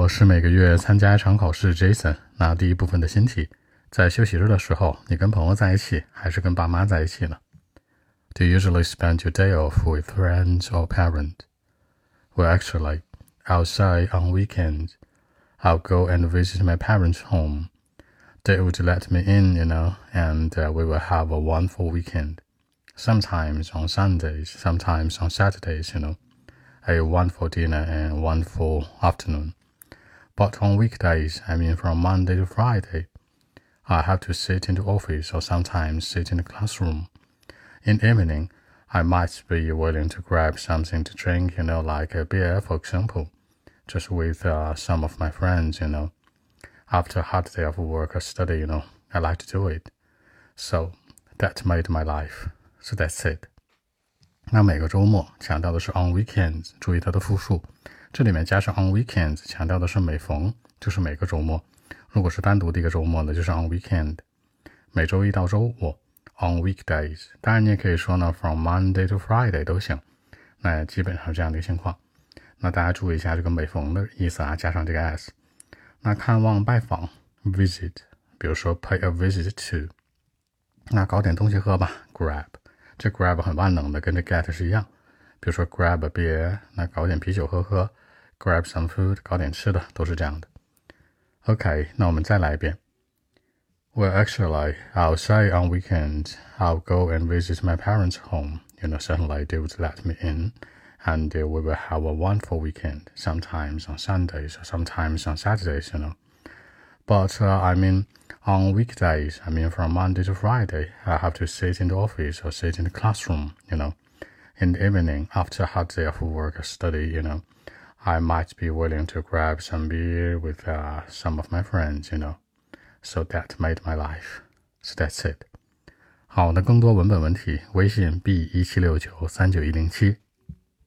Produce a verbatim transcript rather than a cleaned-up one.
我是每个月参加一场考试 Jason。 那第一部分的新题，在休息日的时候，你跟朋友在一起还是跟爸妈在一起呢？ Do you usually spend your day off with friends or parents? Well, actually, I'll say on weekends, I'll go and visit my parents' home. They would let me in, you know, and uh, we will have a wonderful weekend. Sometimes on Sundays, sometimes on Saturdays, you know, a wonderful dinner and wonderful afternoon.But on weekdays, I mean from Monday to Friday, I have to sit in the office or sometimes sit in the classroom. In the evening, I might be willing to grab something to drink, you know, like a beer, for example, just with uh, some of my friends, you know. After a hard day of work or study, you know, I like to do it. So that made my life. So that's it. 那每个周末强调的是 on weekends， 注意它的复数。这里面加上 on weekends 强调的是每逢，就是每个周末。如果是单独的一个周末呢，就是 on weekend。每周一到周五 on weekdays。当然你也可以说呢 from Monday to Friday 都行。那基本上是这样的一个情况。那大家注意一下这个每逢的意思啊，加上这个 s。那看望拜访 visit， 比如说 pay a visit to。那搞点东西喝吧 grab。这 grab 很万能的，跟这 get 是一样。比如说 grab a beer， 那搞点啤酒喝喝。grab some food， 搞点吃的，都是这样的。OK， 那我们再来一遍。Well, actually, I'll say on weekends, I'll go and visit my parents' home. You know, certainly they would let me in, and we will have a wonderful weekend, sometimes on Sundays, or sometimes on Saturdays, you know. But, uh, I mean, on weekdays, I mean from Monday to Friday, I have to sit in the office or sit in the classroom, you know. In the evening, after a hard day of work or study, you know,I might be willing to grab some beer with uh, some of my friends, you know. So that made my life. So that's it. 好，那更多文本问题，微信 b 一七六九三九一零七